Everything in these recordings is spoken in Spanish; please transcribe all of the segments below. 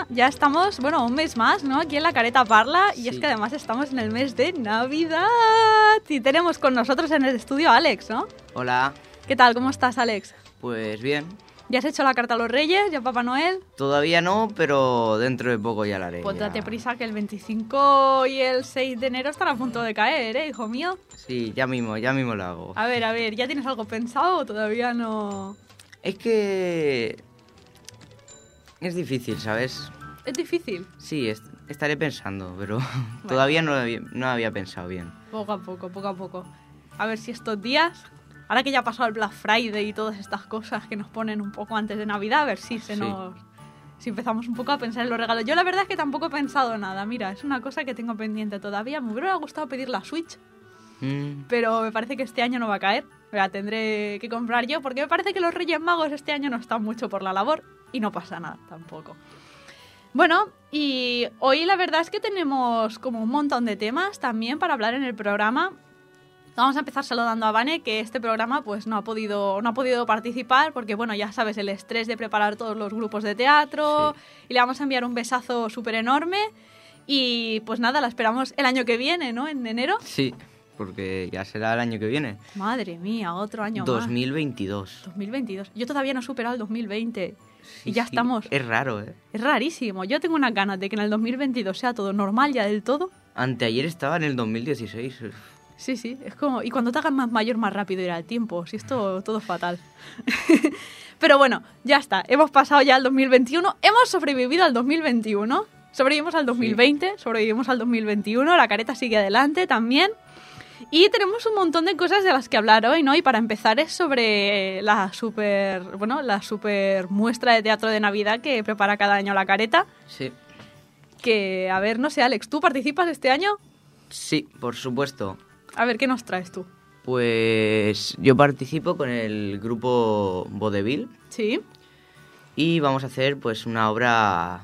ya estamos, bueno, un mes más, ¿no? Aquí en La Careta Parla. Y Sí. es que además estamos en el mes de Navidad. Y tenemos con nosotros en el estudio a Alex, ¿no? Hola, ¿Qué tal? ¿Cómo estás, Alex? pues bien. ¿Ya has hecho la carta a los Reyes? ¿Ya a Papá Noel? Todavía no, pero dentro de poco ya la haré. Pues ya. date prisa que el 25 y el 6 de enero están a punto de caer, ¿eh, hijo mío? Sí, ya mismo lo hago. A ver, ¿ya tienes algo pensado o todavía no...? Es que... es difícil, ¿sabes? Es difícil. Sí, estaré pensando, pero todavía no había pensado bien. Poco a poco, poco a poco. A ver si estos días, ahora que ya ha pasado el Black Friday y todas estas cosas que nos ponen un poco antes de Navidad, a ver si si empezamos un poco a pensar en los regalos. Yo la verdad es que tampoco he pensado nada. Mira, es una cosa que tengo pendiente todavía. Me hubiera gustado pedir la Switch, pero me parece que este año no va a caer. La tendré que comprar yo porque me parece que los Reyes Magos este año no están mucho por la labor y no pasa nada tampoco. Bueno, y hoy la verdad es que tenemos como un montón de temas también para hablar en el programa. Vamos a empezar saludando a Vane, que este programa pues no ha podido participar porque, bueno, ya sabes, el estrés de preparar todos los grupos de teatro, y le vamos a enviar un besazo súper enorme y pues nada, la esperamos el año que viene, ¿no? En enero. Sí, porque ya será el año que viene. Madre mía, otro año 2022. más. 2022. Yo todavía no he superado el 2020 y ya Sí, estamos. Es raro, ¿eh? Es rarísimo. Yo tengo unas ganas de que en el 2022 sea todo normal ya del todo. Anteayer estaba en el 2016. Sí, es como... Y cuando te hagas más mayor, más rápido irá el tiempo. Si esto todo fatal. Pero bueno, ya está. Hemos pasado ya al 2021. Hemos sobrevivido al 2021. Sobrevivimos al 2020, sobrevivimos al 2021. La careta sigue adelante también. Y tenemos un montón de cosas de las que hablar hoy, ¿no? Y para empezar es sobre la super muestra de teatro de Navidad que prepara cada año la careta. Sí. Que, a ver, no sé, Alex, ¿tú participas este año? Sí, por supuesto. A ver, ¿qué nos traes tú? Pues yo participo con el grupo Vodevil Sí. y vamos a hacer pues una obra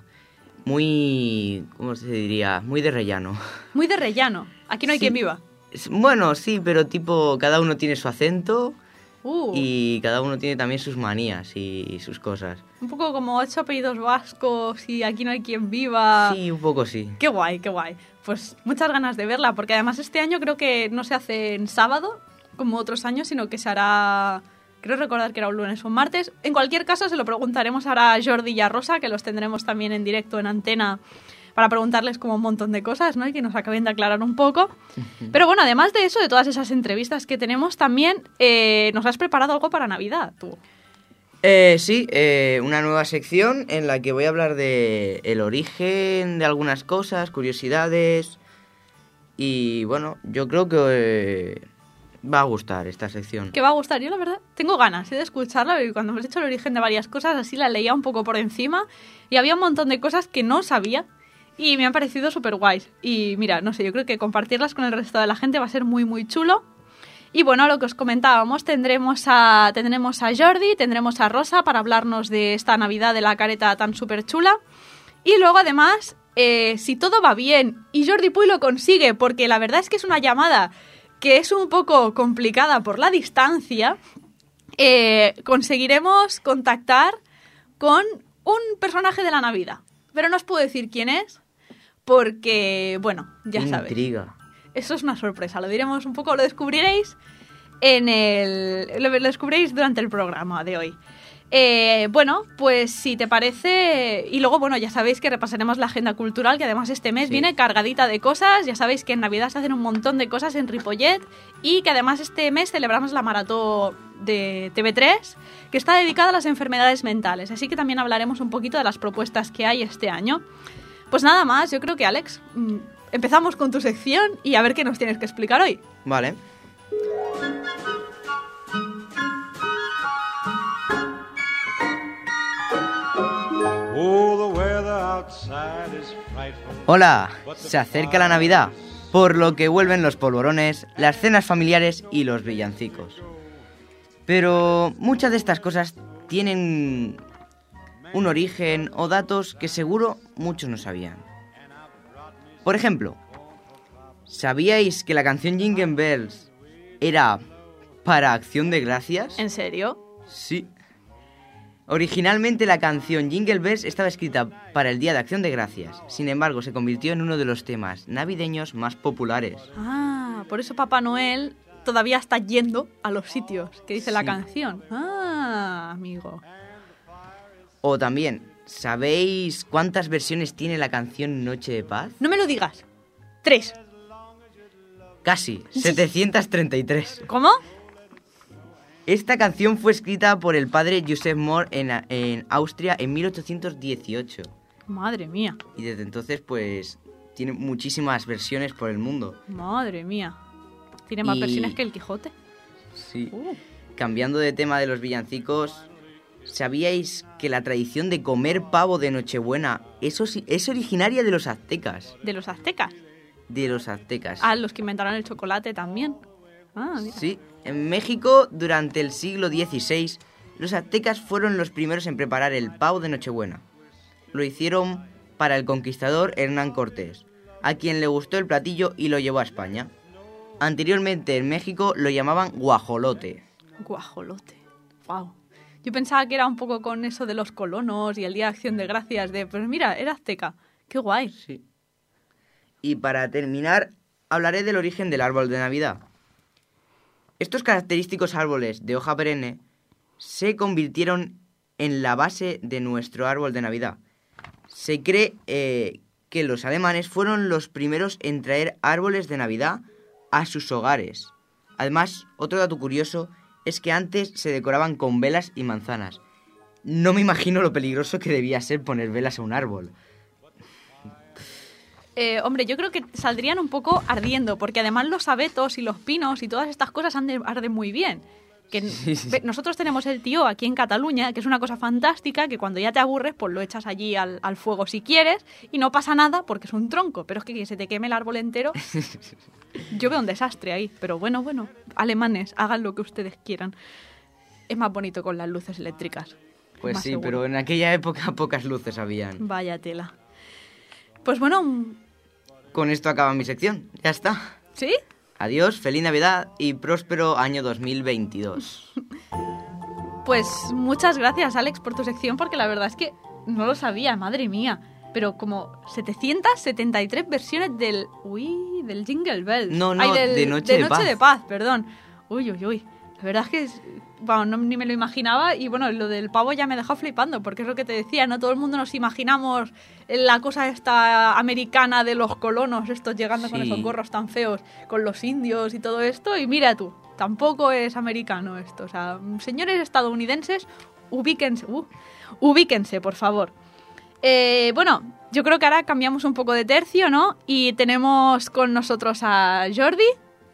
muy, ¿cómo se diría? Muy de rellano. Muy de rellano. Aquí no hay Sí. quien viva. Bueno, sí, pero tipo cada uno tiene su acento Uh, y cada uno tiene también sus manías y sus cosas. Un poco como 8 apellidos vascos y aquí no hay quien viva. Sí, un poco sí. Qué guay, qué guay. Pues muchas ganas de verla, porque además este año creo que no se hace en sábado, como otros años, sino que se hará... Creo recordar que era un lunes o un martes. En cualquier caso, se lo preguntaremos ahora a Jordi y a Rosa, que los tendremos también en directo en antena, para preguntarles como un montón de cosas, ¿no? Y que nos acaben de aclarar un poco. Pero bueno, además de eso, de todas esas entrevistas que tenemos, también nos has preparado algo para Navidad, tú. Sí, una nueva sección en la que voy a hablar de el origen de algunas cosas, curiosidades y bueno, yo creo que va a gustar esta sección. Que va a gustar. Yo, la verdad, tengo ganas de escucharla. Y cuando hemos hecho el origen de varias cosas, así la leía un poco por encima. Y había un montón de cosas que no sabía. Y me han parecido súper guays. Y mira, no sé, yo creo que compartirlas con el resto de la gente va a ser muy, muy chulo. Y bueno, lo que os comentábamos, tendremos a Jordi, tendremos a Rosa para hablarnos de esta Navidad de la careta tan súper chula. Y luego, además, si todo va bien y Jordi Puy lo consigue, porque la verdad es que es una llamada que es un poco complicada por la distancia, conseguiremos contactar con un personaje de la Navidad. Pero no os puedo decir quién es, porque, bueno, ya sabéis. Intriga. Eso es una sorpresa, lo diremos un poco, lo descubriréis lo descubriréis durante el programa de hoy. Bueno, pues si te parece, y luego, bueno, ya sabéis que repasaremos la agenda cultural, que además este mes viene cargadita de cosas. Ya sabéis que en Navidad se hacen un montón de cosas en Ripollet y que además este mes celebramos la maratón de TV3, que está dedicada a las enfermedades mentales, así que también hablaremos un poquito de las propuestas que hay este año. Pues nada más, yo creo que, Alex, empezamos con tu sección y a ver qué nos tienes que explicar hoy. Vale. Hola, se acerca la Navidad, por lo que vuelven los polvorones, las cenas familiares y los villancicos. Pero muchas de estas cosas tienen un origen o datos que seguro muchos no sabían. Por ejemplo, ¿sabíais que la canción Jingle Bells era para Acción de Gracias? ¿En serio? Sí. Originalmente la canción Jingle Bells estaba escrita para el Día de Acción de Gracias. Sin embargo, se convirtió en uno de los temas navideños más populares. Ah, por eso Papá Noel todavía está yendo a los sitios que dice la Sí. canción. Ah, amigo. O también, ¿sabéis cuántas versiones tiene la canción Noche de Paz? No me lo digas. 3. Casi, 733. ¿Cómo? Esta canción fue escrita por el padre Joseph Mohr en Austria en 1818. Madre mía, Y desde entonces, pues, tiene muchísimas versiones por el mundo. madre mía. Tiene más Y- versiones que el Quijote. Sí. Uh, Cambiando de tema de los villancicos, ¿sabíais que la tradición de comer pavo de Nochebuena es originaria de los aztecas? de los aztecas. De los aztecas. Ah, los que inventaron el chocolate también. Ah, mira. Sí, en México, durante el siglo XVI, los aztecas fueron los primeros en preparar el pavo de Nochebuena. Lo hicieron para el conquistador Hernán Cortés, a quien le gustó el platillo y lo llevó a España. Anteriormente en México lo llamaban guajolote. Guajolote. Wow. Yo pensaba que era un poco con eso de los colonos y el Día de Acción de Gracias pues mira, era azteca. Qué guay. Sí. Y para terminar, hablaré del origen del árbol de Navidad. Estos característicos árboles de hoja perenne se convirtieron en la base de nuestro árbol de Navidad. Se cree que los alemanes fueron los primeros en traer árboles de Navidad a sus hogares. Además, otro dato curioso es que antes se decoraban con velas y manzanas. No me imagino lo peligroso que debía ser poner velas a un árbol. Hombre, yo creo que saldrían un poco ardiendo, porque además los abetos y los pinos y todas estas cosas arden muy bien. Que Sí. nosotros tenemos el tío aquí en Cataluña, que es una cosa fantástica, que cuando ya te aburres, pues lo echas allí al fuego si quieres, y no pasa nada porque es un tronco, pero es que se te queme el árbol entero. Yo veo un desastre ahí, pero bueno, alemanes, hagan lo que ustedes quieran. Es más bonito con las luces eléctricas. Pues Más sí, seguro. pero en aquella época pocas luces habían. Vaya tela. Pues bueno, Con esto acaba mi sección. Ya está. ¿sí? Adiós, feliz Navidad y próspero año 2022. Pues muchas gracias, Alex, por tu sección, porque la verdad es que no lo sabía, madre mía. Pero como 773 versiones del Jingle Bells. No, de Noche de Paz. de Paz, perdón. Uy. La verdad es que ni me lo imaginaba y bueno, lo del pavo ya me dejó flipando, porque es lo que te decía, ¿no? Todo el mundo nos imaginamos la cosa esta americana de los colonos, estos llegando con Sí. esos gorros tan feos, con los indios y todo esto, y mira tú, tampoco es americano esto. O sea, señores estadounidenses, ubíquense, por favor. Bueno, yo creo que ahora cambiamos un poco de tercio, ¿no? Y tenemos con nosotros a Jordi,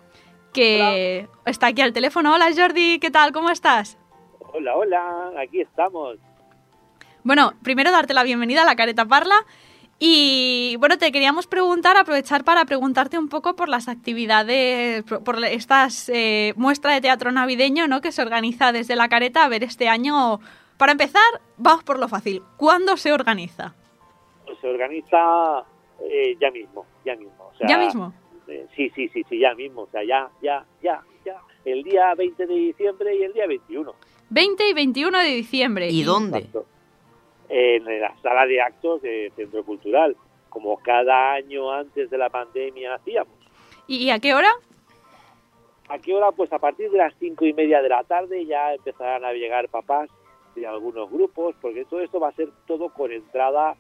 que está aquí al teléfono. Hola Jordi, ¿qué tal? ¿Cómo estás? Hola, aquí estamos. Bueno, primero darte la bienvenida a La Careta Parla. Y bueno, te queríamos aprovechar para preguntarte un poco por las actividades, por estas muestra de teatro navideño, ¿no? Que se organiza desde La Careta. A ver, este año, para empezar, vamos por lo fácil. ¿Cuándo se organiza? Se organiza ya mismo. O sea, ¿Ya mismo? Sí, ya mismo. O sea, ya. El día 20 de diciembre y el día 21. 20 y 21 de diciembre. ¿Y dónde? Exacto. En la sala de actos del Centro Cultural, como cada año antes de la pandemia hacíamos. ¿Y a qué hora? ¿A qué hora? Pues a partir de las 5:30 de la tarde ya empezarán a llegar papás de algunos grupos, porque todo esto va a ser todo con entrada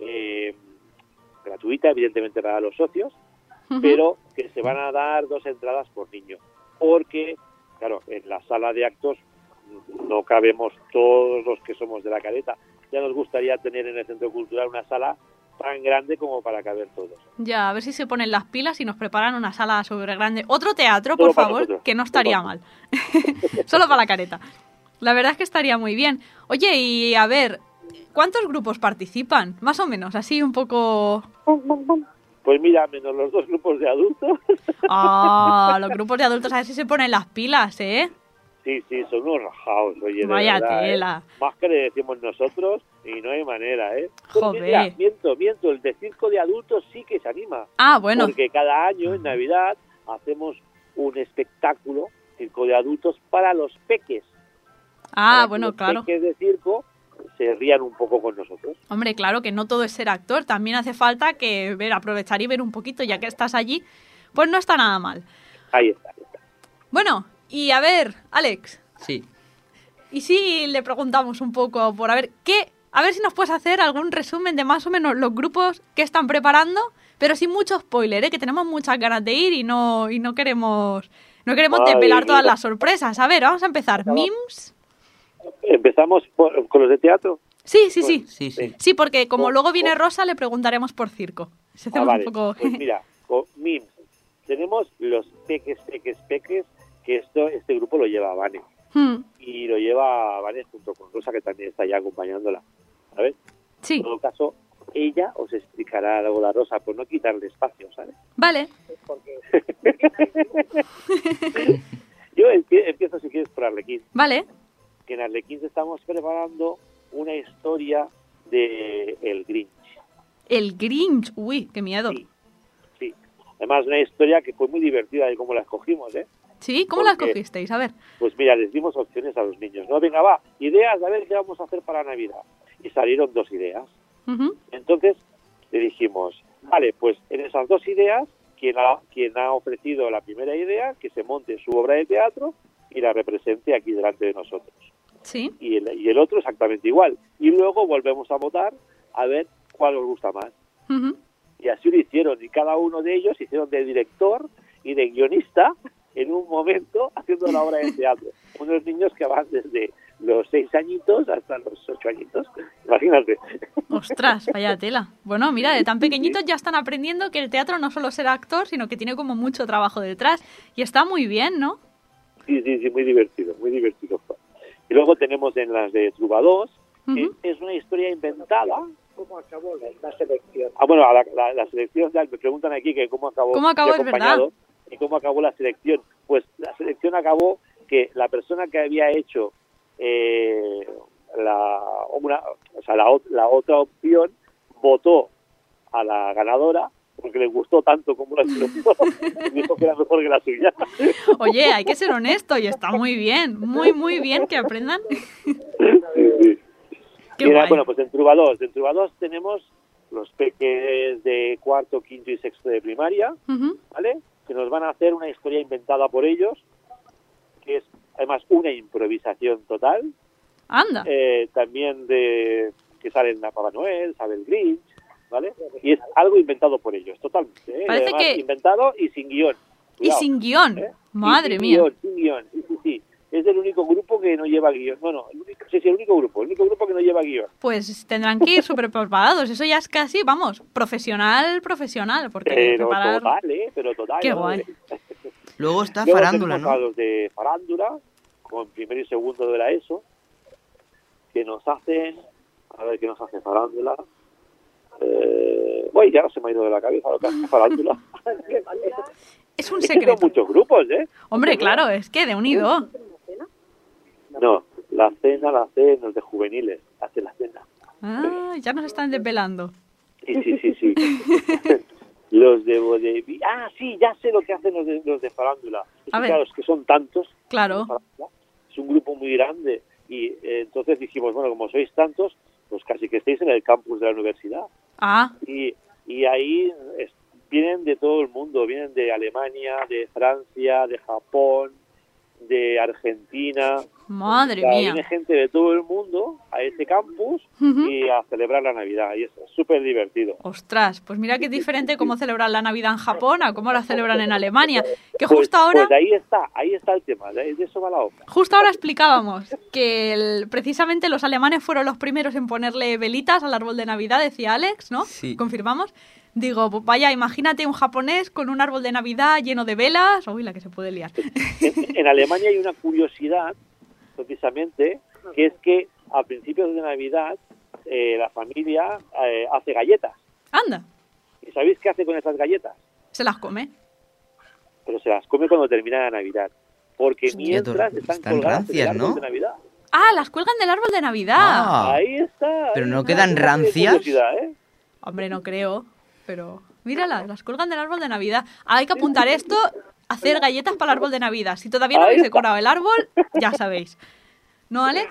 gratuita, evidentemente para los socios, Ujú. pero que se van a dar 2 entradas por niño, porque, claro, en la sala de actos no cabemos todos los que somos de La Careta. Ya nos gustaría tener en el Centro Cultural una sala tan grande como para caber todos. Ya, a ver si se ponen las pilas y nos preparan una sala sobre grande. Otro teatro, Solo por para favor, nosotros. que no estaría mal. Solo para La Careta. La verdad es que estaría muy bien. Oye, y a ver, ¿cuántos grupos participan? Más o menos, así un poco... Pues mira, menos los 2 grupos de adultos. Ah, los grupos de adultos, a ver si se ponen las pilas, ¿eh? Sí, son unos rajados, oye, de Vaya verdad, tela. Más que le decimos nosotros y no hay manera, ¿eh? Joder. Mira, miento, el de circo de adultos sí que se anima. Ah, bueno. Porque cada año en Navidad hacemos un espectáculo, circo de adultos, para los peques. Ah, Para que bueno, los claro. peques de circo se rían un poco con nosotros. Hombre, claro que no todo es ser actor, también hace falta que aprovechar y ver un poquito, ya que estás allí, pues no está nada mal. Ahí está. Bueno, y a ver, Alex, Sí. ¿y si le preguntamos un poco por a ver si nos puedes hacer algún resumen de más o menos los grupos que están preparando, pero sin mucho spoiler, ¿eh? Que tenemos muchas ganas de ir y no queremos desvelar todas las sorpresas. A ver, vamos a empezar. ¿Mims? ¿Empezamos con los de teatro? Sí. Sí. Sí, porque como luego viene Rosa, le preguntaremos por circo. Si hacemos Vale. un poco... Pues mira, con MIMS tenemos los peques, que este grupo lo lleva Vane. Y lo lleva Vane junto con Rosa, que también está ya acompañándola. ¿Sabes? Sí, En todo caso, ella os explicará algo la Rosa, por no quitarle espacio, ¿sabes? vale. Yo empiezo, si quieres, por Arlequín. Vale. Que en Arlequín estamos preparando una historia de El Grinch. El Grinch. Uy, qué miedo. Sí. Además, una historia que fue muy divertida de cómo la escogimos, ¿eh? ¿Sí? ¿Cómo la Porque- escogisteis? A ver. Pues mira, les dimos opciones a los niños. No, venga, va, ideas, a ver qué vamos a hacer para Navidad. Y salieron 2 ideas. Ujú. Entonces, le dijimos, vale, pues en esas 2 ideas, quien ha ofrecido la primera idea, que se monte su obra de teatro y la represente aquí delante de nosotros. Sí. Y el otro exactamente igual. Y luego volvemos a votar a ver cuál os gusta más. Ujú. Y así lo hicieron. Y cada uno de ellos hicieron de director y de guionista en un momento haciendo la obra de teatro. Unos niños que van desde los 6 añitos hasta los 8 añitos. Imagínate. Ostras, vaya tela. Bueno, mira, de tan pequeñitos ya están aprendiendo que el teatro no solo ser actor, sino que tiene como mucho trabajo detrás. Y está muy bien, ¿no? Sí, muy divertido, muy divertido. Y luego tenemos en las de Trubados, que Ujú. es una historia inventada. ¿Cómo acabó la selección? Bueno, la selección, ya me preguntan aquí que cómo acabó. ¿Cómo acabó? Yo he Es verdad. acompañado, y cómo acabó la selección. Pues la selección acabó que la persona que había hecho la otra opción votó a la ganadora porque le gustó tanto como la selección y dijo que era mejor que la suya. Oye, hay que ser honesto y está muy bien, muy bien que aprendan. Sí. Qué Mira, guay. bueno, pues en Trubados tenemos los peques de 4º, 5º y 6º de primaria, Ujú. ¿vale? Que nos van a hacer una historia inventada por ellos, que es además una improvisación total, Anda. también de que salen a Papá Noel, sale el Grinch, ¿vale? Y es algo inventado por ellos, totalmente. Parece Además, que- inventado y sin guión. Y Cuidado, sin guión. ¿eh? Madre Y mía. Sin guión, sí. Es el único grupo que no lleva guión. El único grupo que no lleva guión. Pues tendrán que ir súper preparados. Eso ya es casi, vamos, profesional, porque Pero preparar... total. Qué ¿no? guay. Luego está Luego farándula, tenemos a ¿no? los de farándula, con primero y segundo de la ESO, que nos hacen... A ver, ¿qué nos hace farándula? Ya no se me ha ido de la cabeza lo que hace farándula. Es un Es que son secreto. muchos grupos, ¿eh? Hombre, claro, es que de unido. No, la cena los de juveniles, hace la cena. Ah, ya nos están desvelando. Sí. Los de vodevil. Ah, sí, ya sé lo que hacen los de farándula. Es A que, ver. claro, es que son tantos. Claro. Es un grupo muy grande. Y entonces dijimos, bueno, como sois tantos, pues casi que estéis en el campus de la universidad. Ah, Y ahí vienen de todo el mundo. Vienen de Alemania, de Francia, de Japón, de Argentina. madre O sea, mía. viene gente de todo el mundo a este campus Ujú. y a celebrar la Navidad. Y es súper divertido. Ostras, pues mira qué diferente cómo celebran la Navidad en Japón a cómo la celebran en Alemania. Que Pues, justo ahora... pues ahí está el tema, de eso va la obra. Justo ahora explicábamos que precisamente los alemanes fueron los primeros en ponerle velitas al árbol de Navidad, decía Alex, ¿no? Sí. ¿Confirmamos? Digo, pues vaya, imagínate un japonés con un árbol de Navidad lleno de velas. Uy, la que se puede liar. En Alemania hay una curiosidad, precisamente, que es que a principios de Navidad la familia hace galletas. Anda, ¿Y sabéis qué hace con esas galletas? se las come. Pero se las come cuando termina la Navidad. Porque Hostia, mientras están están colgadas rancias, en el árbol ¿no? de Navidad. Ah, las cuelgan del árbol de Navidad. Ah. Ahí está. ¿Pero ahí no está, quedan qué rancias? curiosidad, ¿eh? Hombre, no creo, pero míralas, las cuelgan del árbol de Navidad. Ahora hay que apuntar esto, hacer galletas para el árbol de Navidad. Si todavía no Ahí habéis está. decorado el árbol, ya sabéis. ¿No, Alex?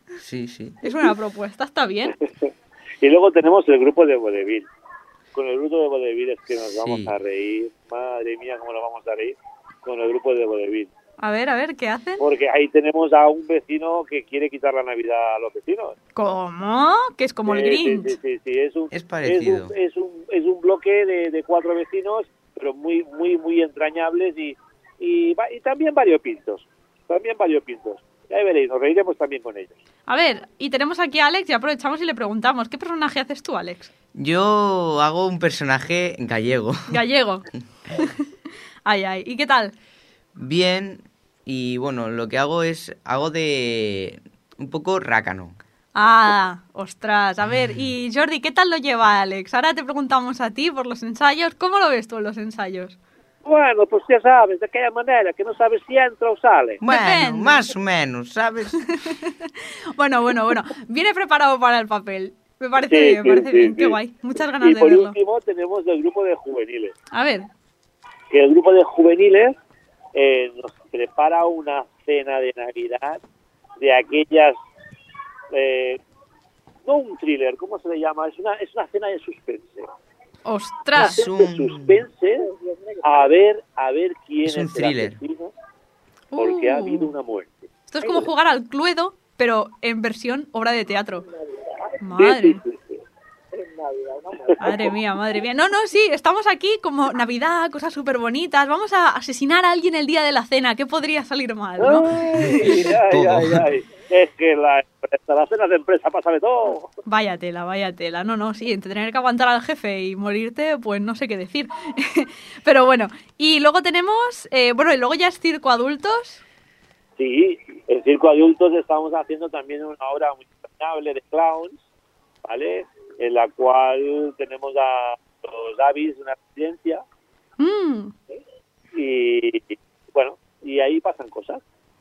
Sí, sí. Es una propuesta, está bien. Y luego tenemos el grupo de vodevil. Con el grupo de vodevil es que nos Sí. vamos a reír. Madre mía, cómo nos vamos a reír con el grupo de vodevil. A ver, ¿qué hacen? Porque ahí tenemos a un vecino que quiere quitar la Navidad a los vecinos. ¿Cómo? Que es como el Grinch. Sí. Es parecido. Es un bloque de 4 vecinos, pero muy entrañables y también variopintos. Y ahí veréis, nos reiremos también con ellos. A ver, y tenemos aquí a Alex y aprovechamos y le preguntamos, ¿qué personaje haces tú, Alex? Yo hago un personaje gallego. Gallego. Ay, ¿y qué tal? Bien, y bueno, lo que hago de un poco rácano. Ah, ostras, a ver, y Jordi, ¿qué tal lo lleva Alex? Ahora te preguntamos a ti por los ensayos, ¿cómo lo ves tú en los ensayos? Bueno, pues ya sabes, de aquella manera que no sabes si entra o sale. Bueno, Depende. más o menos, ¿sabes? Bueno, viene preparado para el papel. Me parece Sí, bien, me parece sí, bien, sí. qué guay. Muchas ganas Y de por verlo. último tenemos el grupo de juveniles. A ver, Que el grupo de juveniles nos prepara una cena de Navidad de aquellas... no un thriller, ¿cómo se le llama? Es una cena de suspense. ostras, Es De suspense a ver quién Es un el thriller. asesino, porque ha habido una muerte. esto es como jugar al Cluedo, pero en versión obra de teatro. Sí, Madre, sí. madre mía. No, sí, estamos aquí como Navidad, cosas súper bonitas. Vamos a asesinar a alguien el día de la cena. ¿Qué podría salir mal, no? Ay. Es que las cenas de empresa pasa de todo. Vaya tela. No, sí, entre tener que aguantar al jefe y morirte, pues no sé qué decir. Pero bueno, y luego tenemos, y luego ya es circo adultos. Sí, en Circo Adultos estamos haciendo también una obra muy entrañable de clowns, ¿vale? En la cual tenemos a los Avis de una residencia Mm, y bueno, y ahí pasan cosas.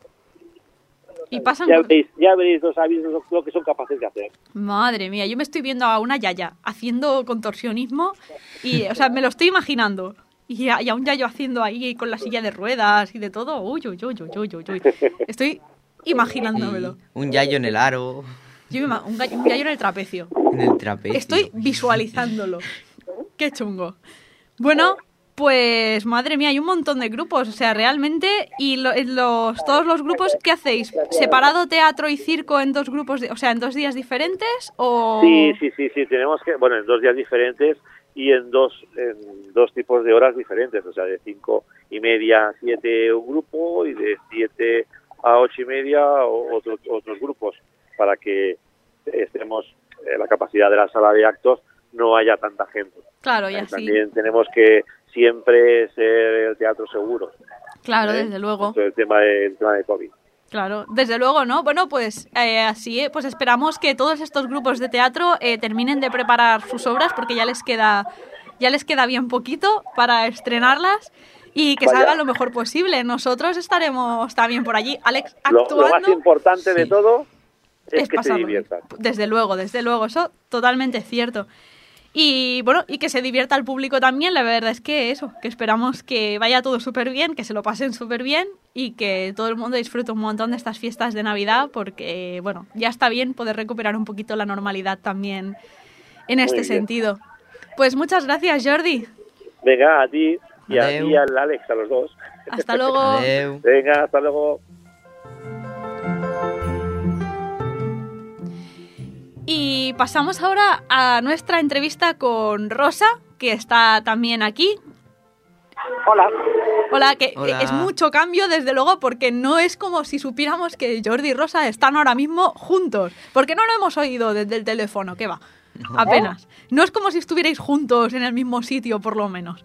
y pasan... Ya veréis los Avis lo que son capaces de hacer. Madre mía, yo me estoy viendo a una yaya haciendo contorsionismo y, o sea, me lo estoy imaginando. Y a un yayo haciendo ahí con la silla de ruedas y de todo. Uy. Estoy imaginándomelo. Y un yayo en el aro, Un yayo en el trapecio. en el trapecio. Estoy visualizándolo. Qué chungo. Bueno, pues madre mía, hay un montón de grupos. O sea, realmente... ¿Y todos los grupos qué hacéis? ¿Separado teatro y circo en dos grupos, en 2 días diferentes? ¿O...? Sí, tenemos que, bueno, en 2 días diferentes y en dos tipos de horas diferentes, o sea, de 5:30 a 7 un grupo y de 7 a 8:30 otros grupos, para que estemos la capacidad de la sala de actos no haya tanta gente. Claro, y así. También tenemos que siempre ser el teatro seguro. Claro, desde luego. El tema de COVID. Claro, desde luego, ¿no? Bueno, pues así, pues esperamos que todos estos grupos de teatro terminen de preparar sus obras porque ya les queda bien poquito para estrenarlas y que Vaya. salgan lo mejor posible. Nosotros estaremos también por allí, Alex, actuando. Lo más importante de todo es que se pasarlo. diviertan. Desde luego, eso totalmente cierto. Y bueno, y que se divierta el público también, la verdad es que eso, que esperamos que vaya todo súper bien, que se lo pasen súper bien y que todo el mundo disfrute un montón de estas fiestas de Navidad porque, bueno, ya está bien poder recuperar un poquito la normalidad también en este bien. sentido. Pues muchas gracias, Jordi. Venga, a ti y a Adeu. ti y al Alex, a los dos. Hasta luego. Adeu. Venga, hasta luego. Y pasamos ahora a nuestra entrevista con Rosa, que está también aquí. Hola, que Hola. es mucho cambio, desde luego, porque no es como si supiéramos que Jordi y Rosa están ahora mismo juntos. Porque no lo hemos oído desde el teléfono, ¿qué va? Apenas. No es como si estuvierais juntos en el mismo sitio, por lo menos.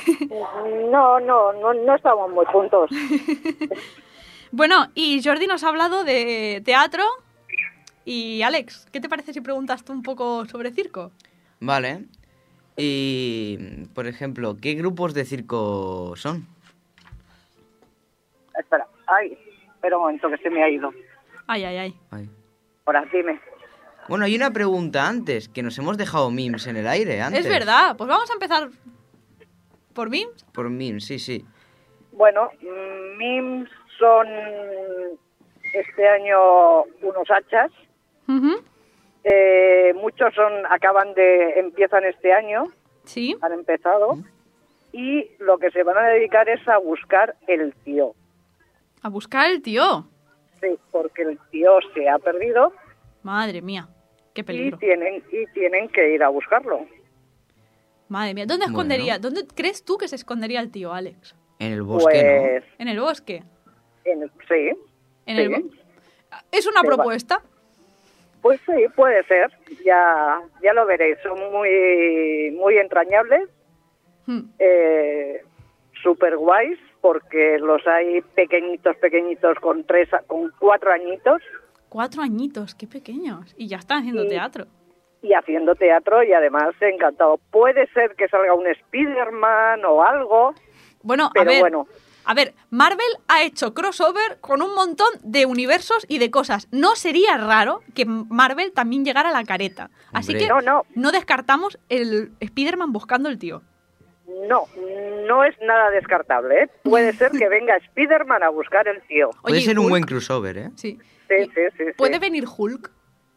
No estamos muy juntos. Bueno, y Jordi nos ha hablado de teatro. Y Alex, ¿qué te parece si preguntas tú un poco sobre circo? Vale. Y, por ejemplo, ¿qué grupos de circo son? Espera, espera un momento que se me ha ido. Ay. Ay. Ahora, dime. Bueno, hay una pregunta antes, que nos hemos dejado memes en el aire antes. Es verdad, pues vamos a empezar por mí. Por memes, sí. Bueno, MIMS son este año unos hachas Ujú. Muchos empiezan este año, Sí. han empezado, y lo que se van a dedicar es a buscar el tío. A buscar el tío. Sí, porque el tío se ha perdido Madre mía, qué y peligro. tienen que ir a buscarlo. Madre mía, ¿dónde Bueno. escondería? ¿Dónde crees tú que se escondería el tío, Alex? En el bosque, Pues, ¿En el bosque? sí, ¿En Sí. el ¿Es una Se va. propuesta? pues sí, puede ser. Ya lo veréis. Son muy, muy entrañables, Hmm. super guays, porque los hay pequeñitos con 4 añitos 4 añitos, qué pequeños. Y ya están haciendo Y- teatro. y haciendo teatro, y además encantado. Puede ser que salga un Spider-Man o algo, Bueno, pero bueno. A ver, Marvel ha hecho crossover con un montón de universos y de cosas. No sería raro que Marvel también llegara a la careta. Así Hombre. que No. descartamos el Spider-Man buscando el tío. No es nada descartable, ¿eh? Puede ser que venga Spider-Man a buscar el tío. Puede Oye, ser un Hulk, buen crossover, ¿eh? Sí. Sí, Y- sí. ¿Puede venir Hulk?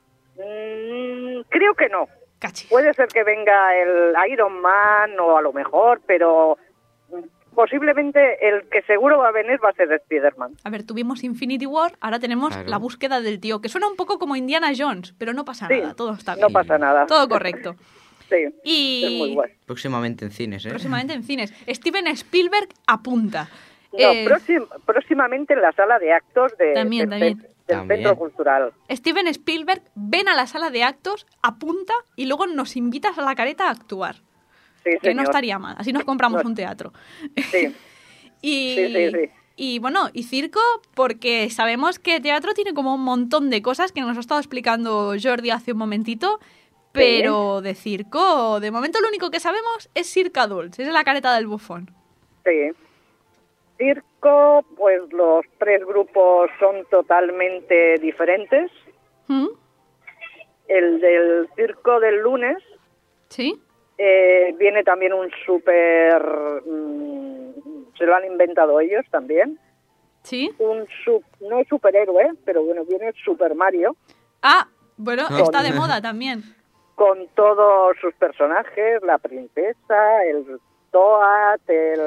Creo que no. Cachis. Puede ser que venga el Iron Man o a lo mejor, pero posiblemente el que seguro va a venir va a ser Spider-Man. A ver, tuvimos Infinity War, ahora tenemos Claro. la búsqueda del tío, que suena un poco como Indiana Jones, pero no pasa Sí, nada, todo está bien. no pasa nada. Todo correcto. Sí, Y es muy guay. Próximamente en cines, ¿eh? próximamente en cines. Steven Spielberg apunta. No, Eh, próximamente en la sala de actos También. del También. Centro Cultural. Steven Spielberg ven a la sala de actos, apunta y luego nos invitas a la careta a actuar. Sí, Que no señor. estaría mal, así nos compramos No. un teatro. Sí. Y, Sí. y bueno, y circo, porque sabemos que teatro tiene como un montón de cosas que nos ha estado explicando Jordi hace un momentito, pero de circo, de momento lo único que sabemos es Cirque Adults, es la careta del bufón. Sí. Circo, pues los 3 grupos son totalmente diferentes. ¿Mm? El del circo del lunes ¿Sí? viene también un se lo han inventado ellos también. ¿Sí? No es superhéroe, pero bueno, viene Super Mario Ah, bueno, Ah. está de moda también. con todos sus personajes, la princesa, el Toad,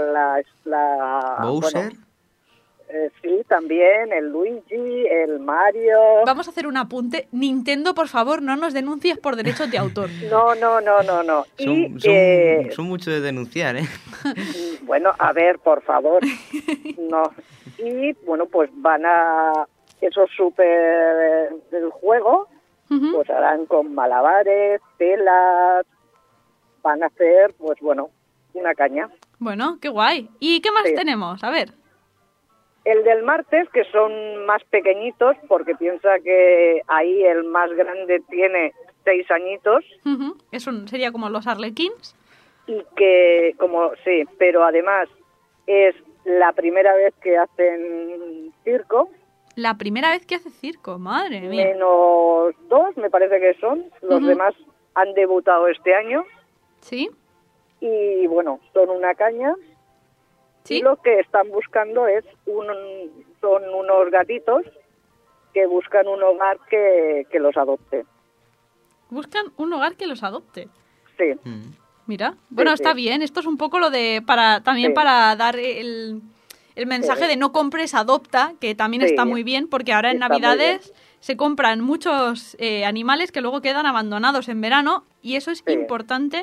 Bowser. bueno, sí, también el Luigi, el Mario. Vamos a hacer un apunte. Nintendo, por favor, no nos denuncies por derechos de autor. No. Y, Son mucho de denunciar, ¿eh? bueno, a ver, por favor. No. Y bueno, pues van a esos super del juego, Ujú. pues harán con malabares, telas, van a hacer, pues bueno, una caña. Bueno, qué guay. ¿Y qué más Sí. tenemos? A ver. El del martes, que son más pequeñitos, porque piensa que ahí el más grande tiene 6 añitos, Ujú. Sería como los Arlequins. y que, como sí, pero además es la primera vez que hacen circo, La primera vez que hace circo, madre mía. menos 2 me parece que son, los Ujú. demás han debutado este año, ¿Sí? y bueno, son una caña, ¿Sí? y lo que están buscando son unos gatitos que buscan un hogar que los adopte. Buscan un hogar que los adopte. Sí, Mm. Mira. Bueno, Sí, está sí. bien. Esto es un poco lo de... también Sí. para dar el mensaje Sí. de no compres, adopta, que también Sí. está muy bien, porque ahora en Está muy Navidades se compran muchos animales que luego quedan abandonados en verano y eso es Sí. importante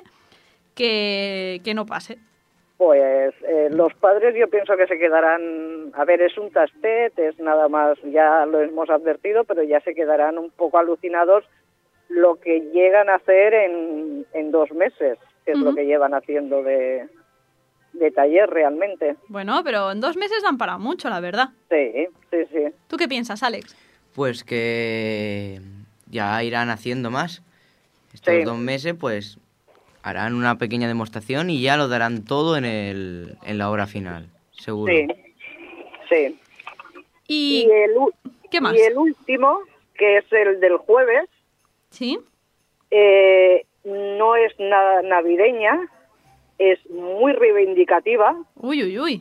que no pase. pues los padres yo pienso que se quedarán, a ver, es un tastet, es nada más, ya lo hemos advertido, pero ya se quedarán un poco alucinados lo que llegan a hacer en 2 meses, que es lo Ujú. que llevan haciendo de taller realmente. Bueno, pero en 2 meses dan para mucho, la verdad. Sí. ¿Tú qué piensas, Alex? Pues que ya irán haciendo más. Estos Sí. 2 meses, pues harán una pequeña demostración y ya lo darán todo en la obra final, seguro. Sí. ¿Y qué más? Y el último, que es el del jueves, ¿Sí? no es nada navideña, es muy reivindicativa, Uy.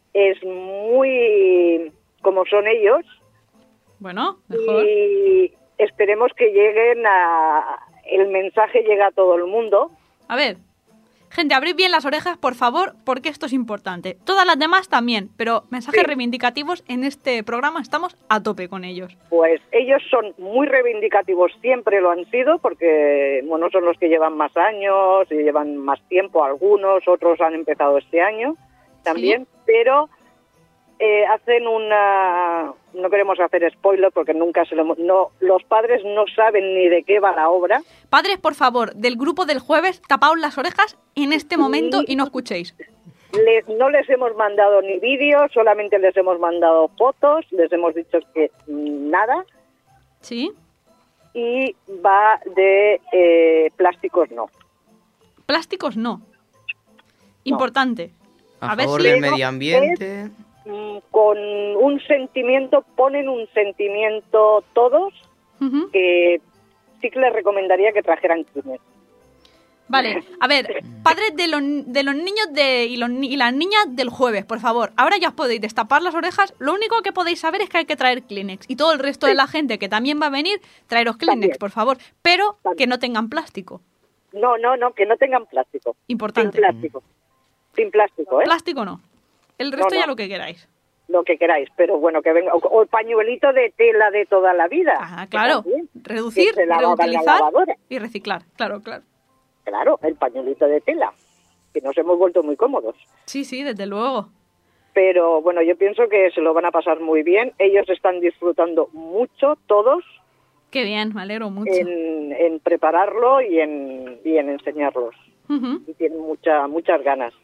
es muy como son ellos, Bueno, mejor. y esperemos que el mensaje llegue a todo el mundo. A ver, gente, abrid bien las orejas, por favor, porque esto es importante. Todas las demás también, pero mensajes reivindicativos en este programa estamos a tope con ellos. Pues ellos son muy reivindicativos, siempre lo han sido, porque bueno, son los que llevan más años y llevan más tiempo algunos, otros han empezado este año también, pero hacen no queremos hacer spoiler porque nunca los padres no saben ni de qué va la obra. Padres, por favor, del grupo del jueves, tapaos las orejas en este momento y no escuchéis. No les hemos mandado ni vídeos, solamente les hemos mandado fotos, les hemos dicho que nada. ¿Sí? Y va de plásticos no. Plásticos no. Importante. A favor del medio ambiente. Con un sentimiento, ponen un sentimiento todos, que sí que les recomendaría que trajeran Kleenex. Vale, a ver, padres de los niños y las niñas del jueves, por favor, ahora ya os podéis destapar las orejas, lo único que podéis saber es que hay que traer Kleenex, y todo el resto de la gente que también va a venir, traeros Kleenex, También. por favor, pero que no tengan plástico. No, que no tengan plástico. Importante. Sin plástico, ¿eh? Plástico no. El resto No. ya lo que queráis. Lo que queráis, pero bueno, que venga. O el pañuelito de tela de toda la vida. Ah, claro. También. Reducir, Que se lava en la reutilizar lavadora. y reciclar. Claro. Claro, el pañuelito de tela, que nos hemos vuelto muy cómodos. Sí, desde luego. Pero bueno, yo pienso que se lo van a pasar muy bien. Ellos están disfrutando mucho, todos, Qué bien, me alegro mucho. en prepararlo y en enseñarlos. Ujú. Y tienen muchas ganas.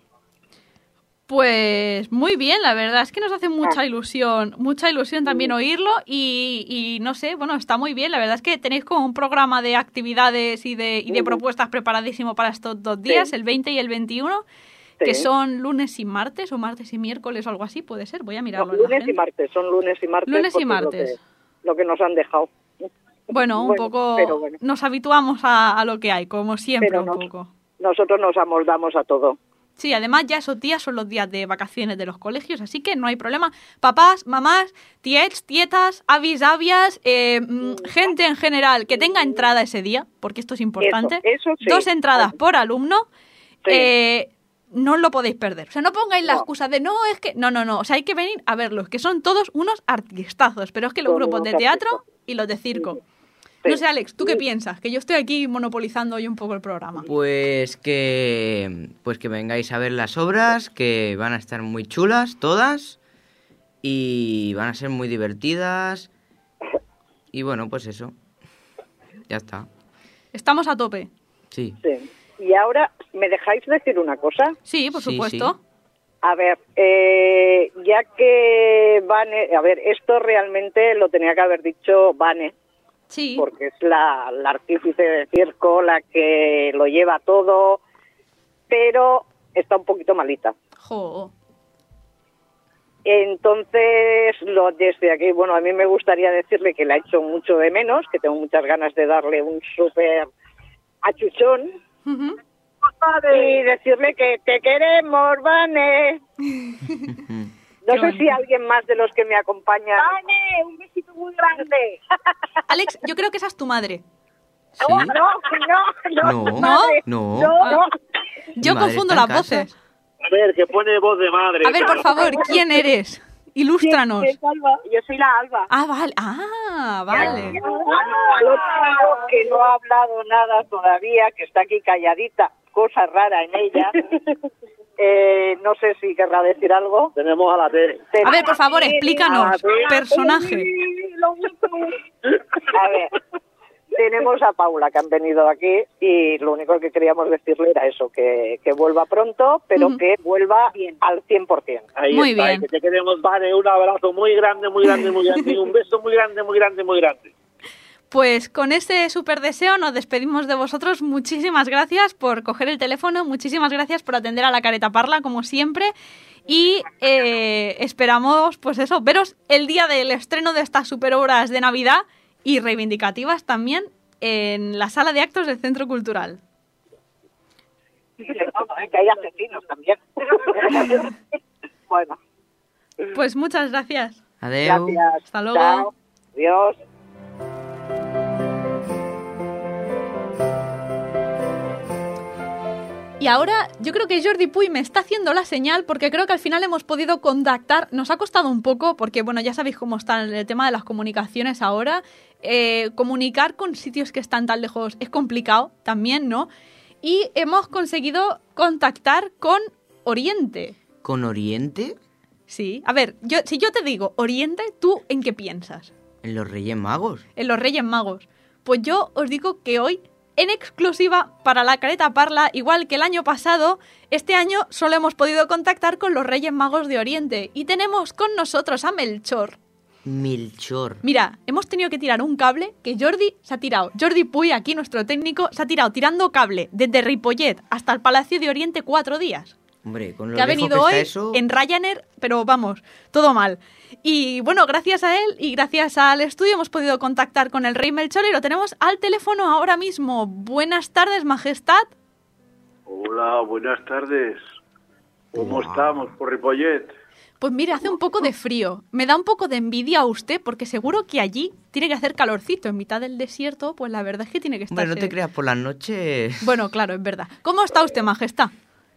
Pues muy bien, la verdad es que nos hace mucha ilusión también oírlo y no sé, bueno, está muy bien, la verdad es que tenéis como un programa de actividades y de propuestas preparadísimo para estos 2 días, el 20 y el 21, que son lunes y martes o martes y miércoles o algo así, puede ser, voy a mirarlo. No, lunes y martes, son lunes y martes. Lunes y porque es martes. Lo que nos han dejado. Bueno, un poco pero bueno. nos habituamos a lo que hay, como siempre Pero un poco. Nosotros nos amoldamos a todo. Sí, además ya esos días son los días de vacaciones de los colegios, así que no hay problema. Papás, mamás, tiets, tietas, avis, avias, gente en general que tenga entrada ese día, porque esto es importante. Eso sí. 2 entradas por alumno, Sí. no lo podéis perder. O sea, no pongáis la No. excusa de no, es que... No. O sea, hay que venir a verlos, que son todos unos artistazos, pero es que los Son grupos unos de teatro artistas. y los de circo. Sí. No sé, Alex, ¿tú qué piensas? Que yo estoy aquí monopolizando hoy un poco el programa. Pues que vengáis a ver las obras, que van a estar muy chulas todas y van a ser muy divertidas. Y bueno, pues eso. Ya está. Estamos a tope. Sí. Sí. Y ahora, ¿me dejáis decir una cosa? Sí, por Sí, supuesto. sí. A ver, ya que Vane... A ver, esto realmente lo tenía que haber dicho Vane, Sí. porque es la artífice de circo, la que lo lleva todo, pero está un poquito malita. Jo. Entonces, desde aquí, bueno, a mí me gustaría decirle que la echo mucho de menos, que tengo muchas ganas de darle un súper achuchón Ujú. y decirle que te queremos, Vane. No Qué sé bonito. si alguien más de los que me acompañan. Vane, un besito muy grande. Alex, yo creo que esa es tu madre. ¿Sí? No, No. madre. No. No. Yo madre confundo está en las casa. voces. A ver, que pone voz de madre. A ver, por favor, ¿quién eres? Ilústranos. Yo soy la Alba. Ah, vale. Ah, vale. Al otro que no ha hablado nada todavía, que está aquí calladita, cosa rara en ella. No sé si querrá decir algo. Tenemos a la Tere. A ver, por favor, explícanos. Personaje. A ver, tenemos a Paula, que han venido aquí, y lo único que queríamos decirle era eso, que vuelva pronto, pero Ujú. que vuelva al 100%. Ahí Muy está, bien. que te queremos, Vane, un abrazo muy grande, muy grande, muy grande, y un beso muy grande, muy grande, muy grande. Pues con ese súper deseo nos despedimos de vosotros. Muchísimas gracias por coger el teléfono, muchísimas gracias por atender a la Careta Parla, como siempre. Y esperamos, pues eso, veros el día del estreno de estas super obras de Navidad y reivindicativas también en la sala de actos del Centro Cultural. Que hay asesinos también. Bueno, Pues muchas gracias. Adeu. gracias. Hasta luego. Chao. Adiós. ahora yo creo que Jordi Puy me está haciendo la señal porque creo que al final hemos podido contactar. Nos ha costado un poco porque, bueno, ya sabéis cómo está el tema de las comunicaciones ahora. Comunicar con sitios que están tan lejos es complicado también, ¿no? Y hemos conseguido contactar con Oriente. ¿Con Oriente? Sí. A ver, si yo te digo Oriente, ¿tú en qué piensas? ¿En los Reyes Magos? En los Reyes Magos. Pues yo os digo que hoy, en exclusiva para la Careta Parla, igual que el año pasado, este año solo hemos podido contactar con los Reyes Magos de Oriente. Y tenemos con nosotros a Melchor. Melchor. Mira, hemos tenido que tirar un cable que Jordi se ha tirado. Jordi Puy, aquí nuestro técnico, se ha tirado tirando cable desde Ripollet hasta el Palacio de Oriente 4 días. Hombre, con lo que ha lejos venido que está hoy eso... en Ryanair, pero vamos, todo mal. Y bueno, gracias a él y gracias al estudio hemos podido contactar con el Rey Melchor y lo tenemos al teléfono ahora mismo. Buenas tardes, Majestad. Hola, buenas tardes. ¿Cómo estamos por Ripollet? Pues mire, hace un poco de frío. Me da un poco de envidia a usted porque seguro que allí tiene que hacer calorcito. En mitad del desierto, pues la verdad es que tiene que estar... Hombre, no te creas, por las noches... Bueno, claro, es verdad. ¿Cómo está usted, Majestad?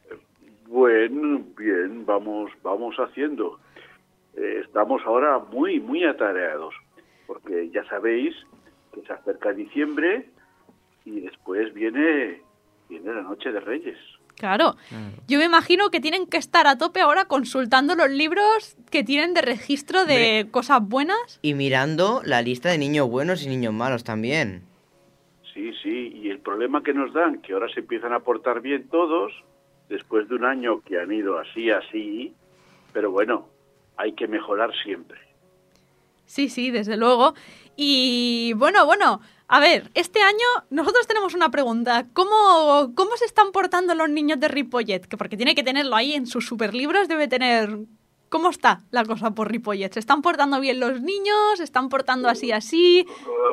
Bueno, bien, vamos haciendo. Estamos ahora muy atareados, porque ya sabéis que se acerca diciembre y después viene la Noche de Reyes. Claro. Yo me imagino que tienen que estar a tope ahora consultando los libros que tienen de registro de cosas buenas. Y mirando la lista de niños buenos y niños malos también. Sí, y el problema que nos dan, que ahora se empiezan a portar bien todos, después de un año que han ido así, pero bueno, hay que mejorar siempre. Sí, desde luego. Y bueno, a ver, este año nosotros tenemos una pregunta. ¿Cómo se están portando los niños de Ripollet? Que porque tiene que tenerlo ahí en sus superlibros, debe tener... ¿Cómo está la cosa por Ripollet? ¿Se están portando bien los niños? ¿Se están portando así?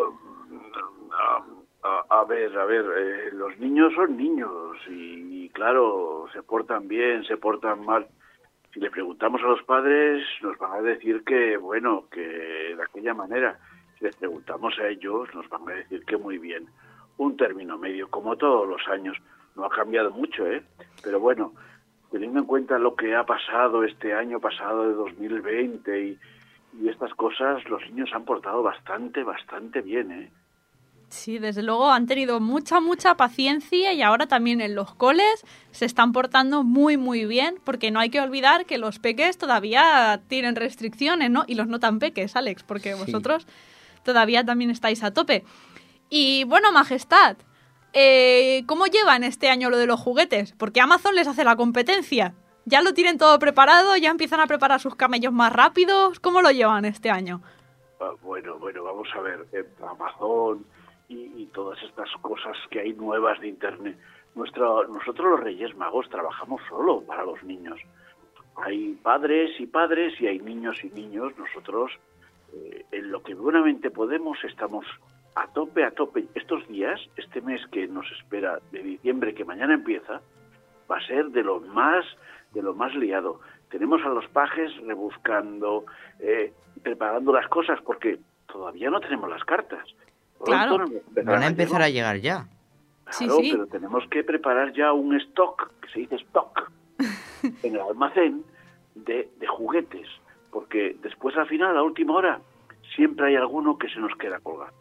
A ver, los niños son niños y claro, se portan bien, se portan mal. Si le preguntamos a los padres, nos van a decir que, bueno, que de aquella manera. Si les preguntamos a ellos, nos van a decir que muy bien. Un término medio, como todos los años. No ha cambiado mucho, ¿eh? Pero bueno, teniendo en cuenta lo que ha pasado este año pasado de 2020 y estas cosas, los niños han portado bastante bien, ¿eh? Sí, desde luego han tenido mucha paciencia y ahora también en los coles se están portando muy bien, porque no hay que olvidar que los peques todavía tienen restricciones, ¿no? Y los no tan peques, Alex, porque vosotros todavía también estáis a tope. Y bueno, Majestad, ¿cómo llevan este año lo de los juguetes? Porque Amazon les hace la competencia. ¿Ya lo tienen todo preparado? ¿Ya empiezan a preparar sus camellos más rápidos? ¿Cómo lo llevan este año? Bueno, vamos a ver, Amazon... Y todas estas cosas que hay nuevas de Internet. Nosotros los Reyes Magos trabajamos solo para los niños. Hay padres y hay niños y niños. Nosotros, en lo que buenamente podemos, estamos a tope. Estos días, este mes que nos espera de diciembre, que mañana empieza, va a ser de lo más liado. Tenemos a los pajes rebuscando, preparando las cosas, porque todavía no tenemos las cartas. Claro. Van a empezar a llegar ya. Claro, sí. Pero tenemos que preparar ya un stock, que se dice stock, en el almacén de juguetes, porque después al final, a la última hora, siempre hay alguno que se nos queda colgado.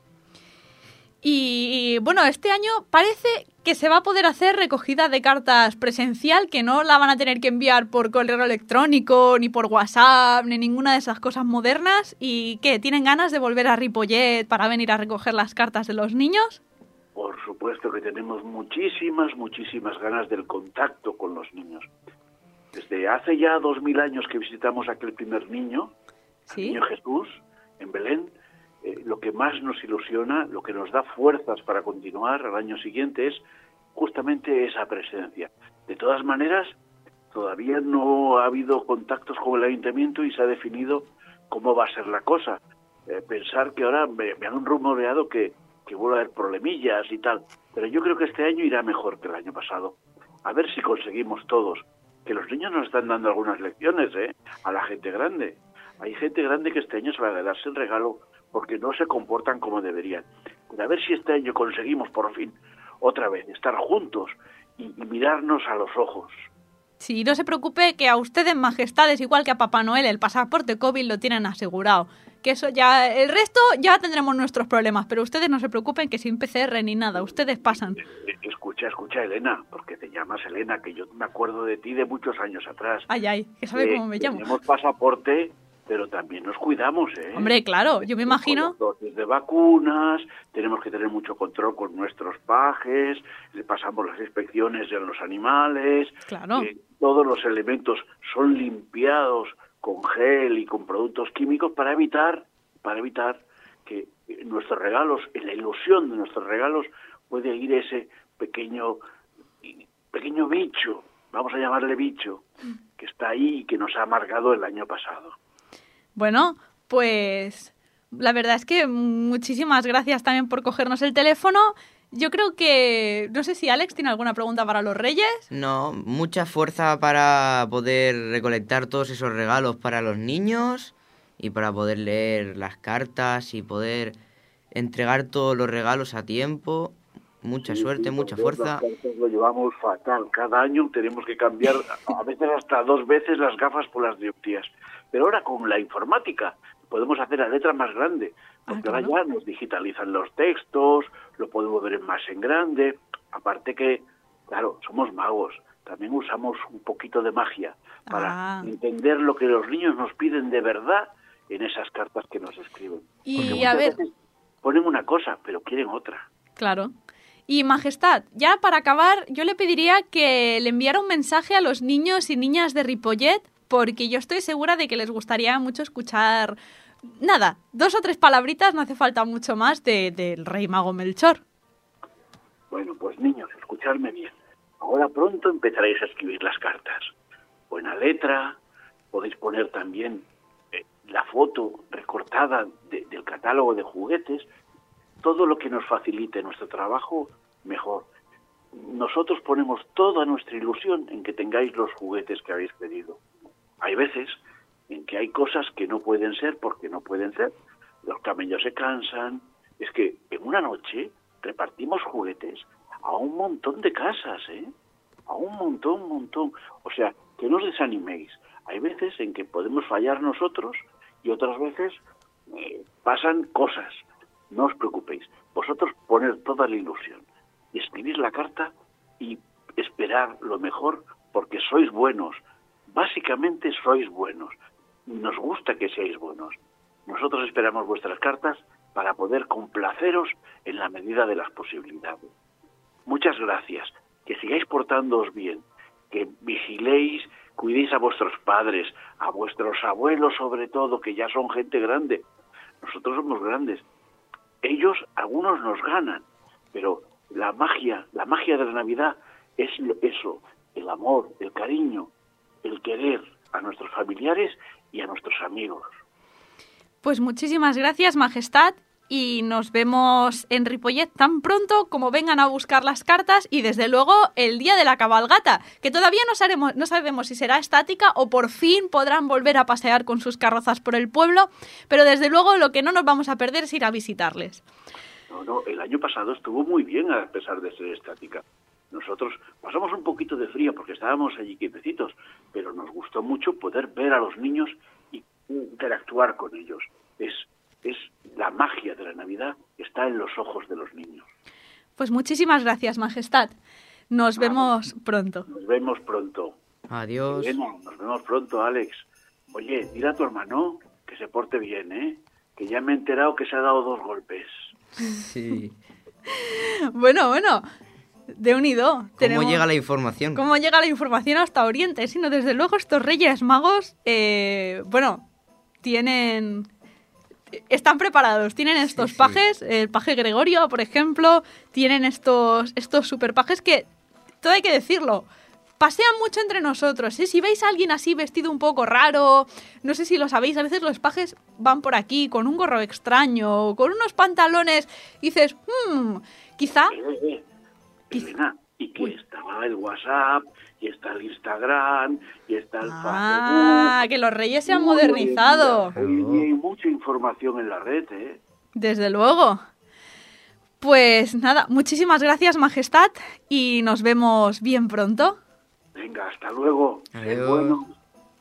Y bueno, este año parece que se va a poder hacer recogida de cartas presencial, que no la van a tener que enviar por correo electrónico, ni por WhatsApp, ni ninguna de esas cosas modernas. ¿Y qué? ¿Tienen ganas de volver a Ripollet para venir a recoger las cartas de los niños? Por supuesto que tenemos muchísimas ganas del contacto con los niños. Desde hace ya 2000 años que visitamos aquel primer niño, el niño Jesús, en Belén, lo que más nos ilusiona, lo que nos da fuerzas para continuar al año siguiente es justamente esa presencia. De todas maneras, todavía no ha habido contactos con el ayuntamiento y se ha definido cómo va a ser la cosa. Pensar que ahora me han rumoreado que vuelve a haber problemillas y tal, pero yo creo que este año irá mejor que el año pasado. A ver si conseguimos todos. Que los niños nos están dando algunas lecciones, a la gente grande. Hay gente grande que este año se va a quedar sin regalo porque no se comportan como deberían. Pero a ver si este año conseguimos por fin otra vez estar juntos y mirarnos a los ojos. Sí, no se preocupe que a ustedes, majestades, igual que a Papá Noel, el pasaporte COVID lo tienen asegurado. Que eso ya, el resto ya tendremos nuestros problemas, pero ustedes no se preocupen que sin PCR ni nada, ustedes pasan. Escucha, Elena, porque te llamas Elena, que yo me acuerdo de ti de muchos años atrás. Ay, que sabe cómo me llamo. Tenemos pasaporte, pero también nos cuidamos, ¿eh? Hombre, claro, yo me imagino. Con las dosis de vacunas, tenemos que tener mucho control con nuestros pajes, le pasamos las inspecciones de los animales. Claro. Todos los elementos son limpiados con gel y con productos químicos para evitar que nuestros regalos, en la ilusión de nuestros regalos, puede ir ese pequeño bicho, vamos a llamarle bicho, que está ahí y que nos ha amargado el año pasado. Bueno, pues la verdad es que muchísimas gracias también por cogernos el teléfono. Yo creo que... No sé si Alex tiene alguna pregunta para los Reyes. No, mucha fuerza para poder recolectar todos esos regalos para los niños y para poder leer las cartas y poder entregar todos los regalos a tiempo. Mucha suerte, mucha fuerza. Lo llevamos fatal. Cada año tenemos que cambiar a veces hasta 2 veces las gafas por las dioptrías. Pero ahora con la informática podemos hacer la letra más grande. Porque ahora ya nos digitalizan los textos, lo podemos ver más en grande. Aparte que, claro, somos magos. También usamos un poquito de magia para entender lo que los niños nos piden de verdad en esas cartas que nos escriben. Y a ver, ponen una cosa, pero quieren otra. Claro. Y Majestad, ya para acabar, yo le pediría que le enviara un mensaje a los niños y niñas de Ripollet, porque yo estoy segura de que les gustaría mucho escuchar, 2 o 3 palabritas, no hace falta mucho más, del Rey Mago Melchor. Bueno, pues niños, escuchadme bien. Ahora pronto empezaréis a escribir las cartas. Buena letra, podéis poner también la foto recortada del catálogo de juguetes. Todo lo que nos facilite nuestro trabajo, mejor. Nosotros ponemos toda nuestra ilusión en que tengáis los juguetes que habéis pedido. Hay veces en que hay cosas que no pueden ser porque no pueden ser. Los camellos se cansan. Es que en una noche repartimos juguetes a un montón de casas, a un montón. O sea, que no os desaniméis. Hay veces en que podemos fallar nosotros y otras veces pasan cosas. No os preocupéis. Vosotros poner toda la ilusión y escribir la carta y esperar lo mejor porque sois buenos. Básicamente sois buenos. Nos gusta que seáis buenos. Nosotros esperamos vuestras cartas para poder complaceros en la medida de las posibilidades. Muchas gracias. Que sigáis portándoos bien. Que vigiléis, cuidéis a vuestros padres, a vuestros abuelos sobre todo, que ya son gente grande. Nosotros somos grandes. Ellos, algunos nos ganan, pero la magia de la Navidad es eso, el amor, el cariño, el querer a nuestros familiares y a nuestros amigos. Pues muchísimas gracias, Majestad, y nos vemos en Ripollet tan pronto como vengan a buscar las cartas y desde luego el día de la cabalgata, que todavía no sabemos si será estática o por fin podrán volver a pasear con sus carrozas por el pueblo, pero desde luego lo que no nos vamos a perder es ir a visitarles. No, el año pasado estuvo muy bien a pesar de ser estática. Nosotros pasamos un poquito de frío porque estábamos allí quietecitos, pero nos gustó mucho poder ver a los niños y interactuar con ellos. Es la magia de la Navidad, está en los ojos de los niños. Pues muchísimas gracias, Majestad. Nos vemos pronto. Nos vemos pronto. Adiós. Bueno, nos vemos pronto, Alex. Oye, dile a tu hermano que se porte bien, que ya me he enterado que se ha dado 2 golpes. Sí. Bueno, de unido. ¿Cómo llega la información? ¿Cómo llega la información hasta Oriente? Sino desde luego estos Reyes Magos, están preparados, tienen estos pajes, el paje Gregorio, por ejemplo, tienen estos superpajes que, todo hay que decirlo, pasean mucho entre nosotros, Si veis a alguien así vestido un poco raro, no sé si lo sabéis, a veces los pajes van por aquí con un gorro extraño, con unos pantalones, y dices, quizá... Elena, y que estaba el WhatsApp, y está el Instagram, y está el Facebook. Que los Reyes se han modernizado. Hoy hay mucha información en la red, Desde luego. Pues nada, muchísimas gracias, Majestad, y nos vemos bien pronto. Venga, hasta luego. Adiós. Bueno.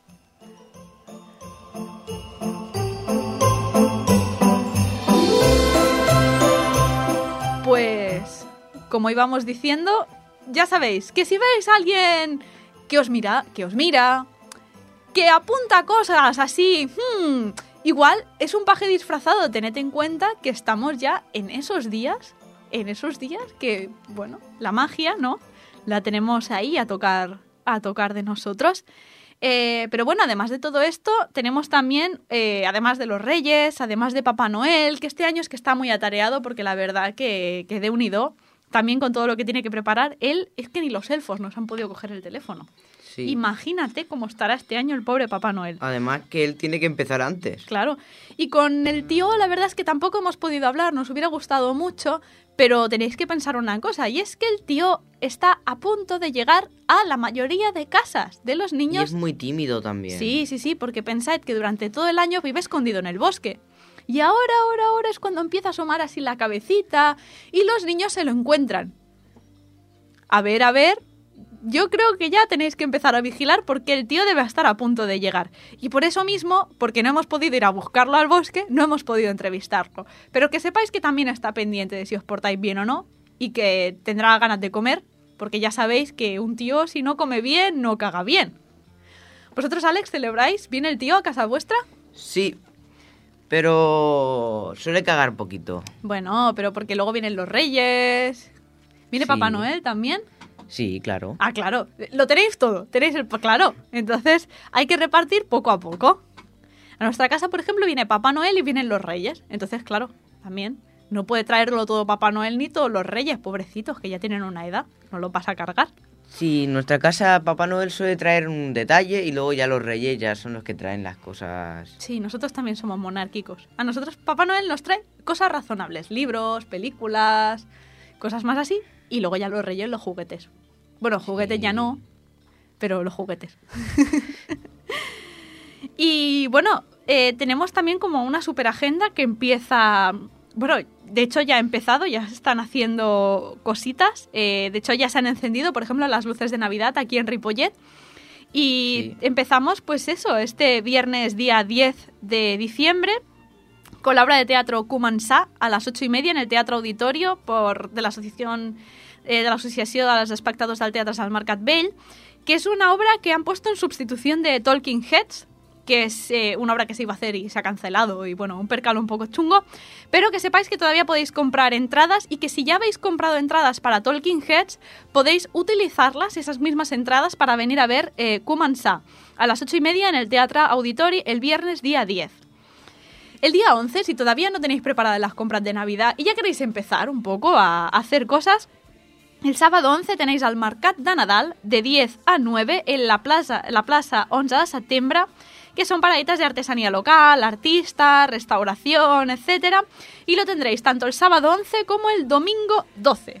Pues, como íbamos diciendo, ya sabéis que si veis a alguien que os mira, que apunta cosas así, igual es un paje disfrazado. Tened en cuenta que estamos ya en esos días que, bueno, la magia, ¿no? La tenemos ahí a tocar de nosotros. Pero bueno, además de todo esto, tenemos también, además de los Reyes, además de Papá Noel, que este año es que está muy atareado porque la verdad que de unido, también con todo lo que tiene que preparar, él es que ni los elfos nos han podido coger el teléfono. Sí. Imagínate cómo estará este año el pobre Papá Noel. Además que él tiene que empezar antes. Claro. Y con el tío, la verdad es que tampoco hemos podido hablar, nos hubiera gustado mucho, pero tenéis que pensar una cosa, y es que el tío está a punto de llegar a la mayoría de casas de los Y niños. es muy tímido también. Sí, porque pensad que durante todo el año vive escondido en el bosque. Y ahora es cuando empieza a asomar así la cabecita y los niños se lo encuentran. A ver, yo creo que ya tenéis que empezar a vigilar porque el tío debe estar a punto de llegar. Y por eso mismo, porque no hemos podido ir a buscarlo al bosque, no hemos podido entrevistarlo. Pero que sepáis que también está pendiente de si os portáis bien o no y que tendrá ganas de comer, porque ya sabéis que un tío si no come bien, no caga bien. ¿Vosotros, Alex, celebráis? ¿Viene el tío a casa vuestra? Sí, pero suele cagar poquito. Bueno, pero porque luego vienen los Reyes. ¿Viene Sí. Papá Noel también? Sí, claro. Ah, claro. Lo tenéis todo. Claro. Entonces hay que repartir poco a poco. A nuestra casa, por ejemplo, viene Papá Noel y vienen los Reyes. Entonces, claro, también no puede traerlo todo Papá Noel ni todos los Reyes, pobrecitos, que ya tienen una edad. No lo vas a cargar. Sí, en nuestra casa Papá Noel suele traer un detalle y luego ya los Reyes ya son los que traen las cosas. Sí, nosotros también somos monárquicos. A nosotros Papá Noel nos trae cosas razonables. Libros, películas, cosas más así. Y luego ya los Reyes, los juguetes. Bueno, juguetes Sí. ya no, pero los juguetes. Y bueno, tenemos también como una super agenda que empieza... Bueno, de hecho ya ha empezado, ya se están haciendo cositas. De hecho ya se han encendido, por ejemplo, las luces de Navidad aquí en Ripollet. Y Sí. empezamos, pues eso, este viernes día 10 de diciembre con la obra de teatro Començar a las 8:30 en el Teatro Auditorio de la Asociación dels Espectadors del Teatre al Mercat Vell, que es una obra que han puesto en sustitución de Talking Heads, que es una obra que se iba a hacer y se ha cancelado y bueno, un percal un poco chungo, pero que sepáis que todavía podéis comprar entradas y que si ya habéis comprado entradas para Talking Heads, podéis utilizarlas, esas mismas entradas, para venir a ver Començar a las 8:30 en el Teatre Auditori el viernes día 10. El día 11, si todavía no tenéis preparadas las compras de Navidad y ya queréis empezar un poco a hacer cosas, el sábado 11 tenéis el Mercat de Nadal de 10 a 9 en la plaza 11 de septiembre, que son paraditas de artesanía local, artistas, restauración, etcétera, y lo tendréis tanto el sábado 11 como el domingo 12.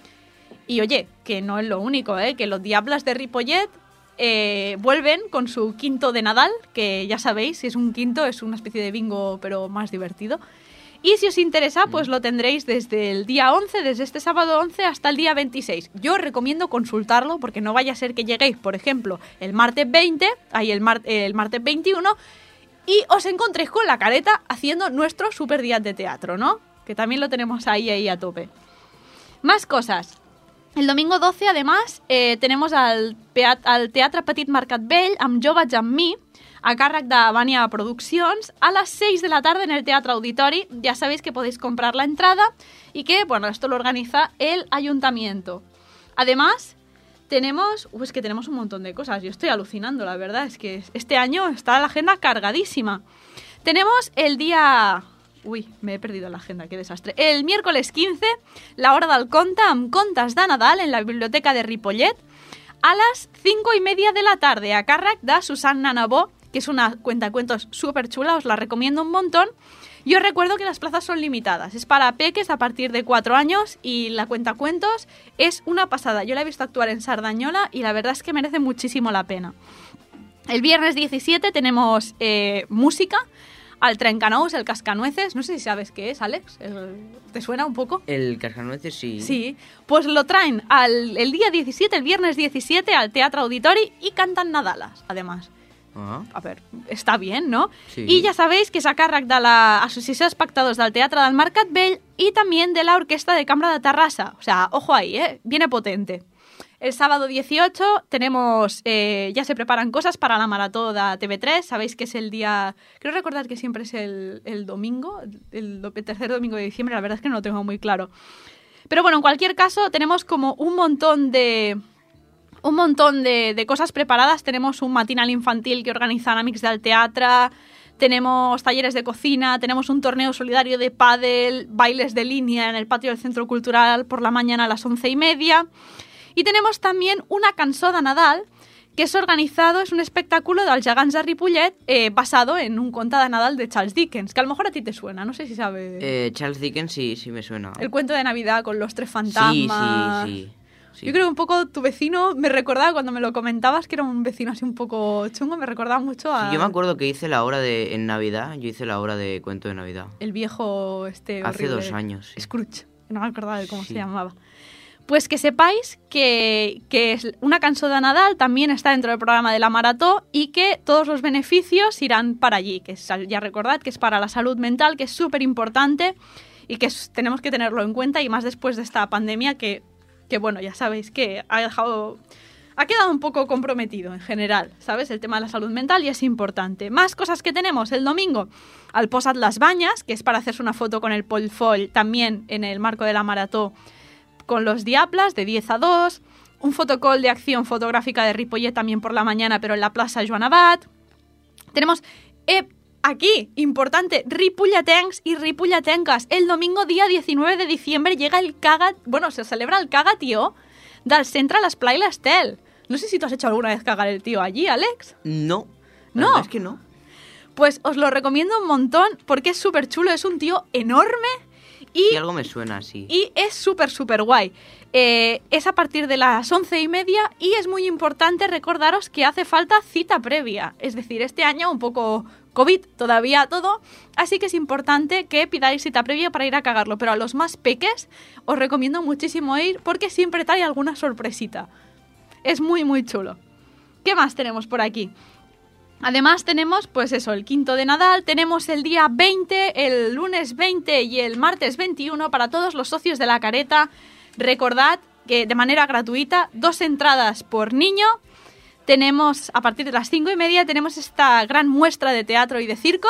Y oye, que no es lo único, que los Diables de Ripollet vuelven con su quinto de Nadal, que ya sabéis, si es un quinto es una especie de bingo pero más divertido. Y si os interesa, pues lo tendréis desde el día 11, desde este sábado 11 hasta el día 26. Yo os recomiendo consultarlo porque no vaya a ser que lleguéis, por ejemplo, el martes 20, el martes 21, y os encontréis con la careta haciendo nuestro super día de teatro, ¿no? Que también lo tenemos ahí a tope. Más cosas. El domingo 12, además, tenemos al Teatre Petit Mercat Vell amb Jo vaig amb mi, a càrrec de Vania Produccions, a las 6 de la tarde en el Teatro Auditori. Ya sabéis que podéis comprar la entrada y que, bueno, esto lo organiza el ayuntamiento. Además, tenemos un montón de cosas. Yo estoy alucinando, la verdad. Es que este año está la agenda cargadísima. Tenemos el día... Uy, me he perdido la agenda, qué desastre. El miércoles 15, la hora del conte amb contes de Nadal en la biblioteca de Ripollet a las 5:30 de la tarde, a càrrec de Susanna Nabó, que es una cuentacuentos súper chula, os la recomiendo un montón. Y os recuerdo que las plazas son limitadas, es para peques a partir de 4 años y la cuentacuentos es una pasada. Yo la he visto actuar en Sardañola y la verdad es que merece muchísimo la pena. El viernes 17 tenemos música al trencanous, el cascanueces. No sé si sabes qué es, Alex. ¿Te suena un poco? El cascanueces sí. Sí, pues lo traen el día 17, el viernes 17, al Teatre Auditori y cantan nadalas, además. Ah. A ver, està bien, no? Sí. I ja sabéis que és a càrrec de l'Associació d'Espectadors del Teatre del Mercat Vell y también de la Orquesta de Cambra de Terrassa. O sea, ojo ahí, viene potente. El sábado 18 tenemos, ya se preparan cosas para la marató de TV3. Sabéis que es el día, creo recordar que siempre es el domingo, el tercer domingo de diciembre, la verdad es que no lo tengo muy claro. Pero bueno, en cualquier caso, tenemos como un montón de cosas preparadas. Tenemos un matinal infantil que organizan Amics del Teatre, tenemos talleres de cocina, tenemos un torneo solidario de pádel, bailes de línea en el patio del Centro Cultural por la mañana a las 11:30. Y tenemos también una cançó de Nadal, que es organizado, es un espectáculo dels gegants de Ripollet basado en un conte de Nadal de Charles Dickens, que a lo mejor a ti te suena, no sé si sabes. Charles Dickens sí me suena. El cuento de Navidad con los 3 fantasmas. Sí. Yo creo que un poco tu vecino me recordaba, cuando me lo comentabas, que era un vecino así un poco chungo, me recordaba mucho a... Sí, yo me acuerdo que hice la obra en Navidad, yo hice la obra de cuento de Navidad. El viejo Hace horrible, 2 años. Sí. Scrooge, no me acordaba de cómo Sí. se llamaba. Pues que sepáis que es una cançó de Nadal, también está dentro del programa de la Marató y que todos los beneficios irán para allí, que ya recordad que es para la salud mental, que es súper importante y que tenemos que tenerlo en cuenta, y más después de esta pandemia que bueno, ya sabéis que ha quedado un poco comprometido en general, ¿sabes? El tema de la salud mental, y es importante. Más cosas que tenemos el domingo. Al Posat Las Bañas, que es para hacerse una foto con el Polfoll, también en el marco de la Marató, con los Diablas, de 10 a 2. Un fotocall de acción fotográfica de Ripollet también por la mañana, pero en la plaça Joan Abat. Tenemos aquí, importante, ripolletens y ripolletenques. El domingo, día 19 de diciembre, llega se celebra el Caga Tío del Centre l'Esplai l'Estel. No sé si tú has hecho alguna vez cagar el tío allí, Alex. No. ¿No? La verdad es que no. Pues os lo recomiendo un montón porque es súper chulo, es un tío enorme Sí, algo me suena así. y es súper guay. Es a partir de las 11:30 y es muy importante recordaros que hace falta cita previa. Es decir, este año un poco COVID todavía todo, así que es importante que pidáis cita previa para ir a cagarlo. Pero a los más peques os recomiendo muchísimo ir porque siempre trae alguna sorpresita. Es muy chulo. ¿Qué más tenemos por aquí? Además tenemos, pues eso, el quinto de Nadal, tenemos el día 20, el lunes 20 y el martes 21 para todos los socios de La Careta. Recordad que de manera gratuita, 2 entradas por niño. Tenemos, a partir de las 5:30, tenemos esta gran muestra de teatro y de circo.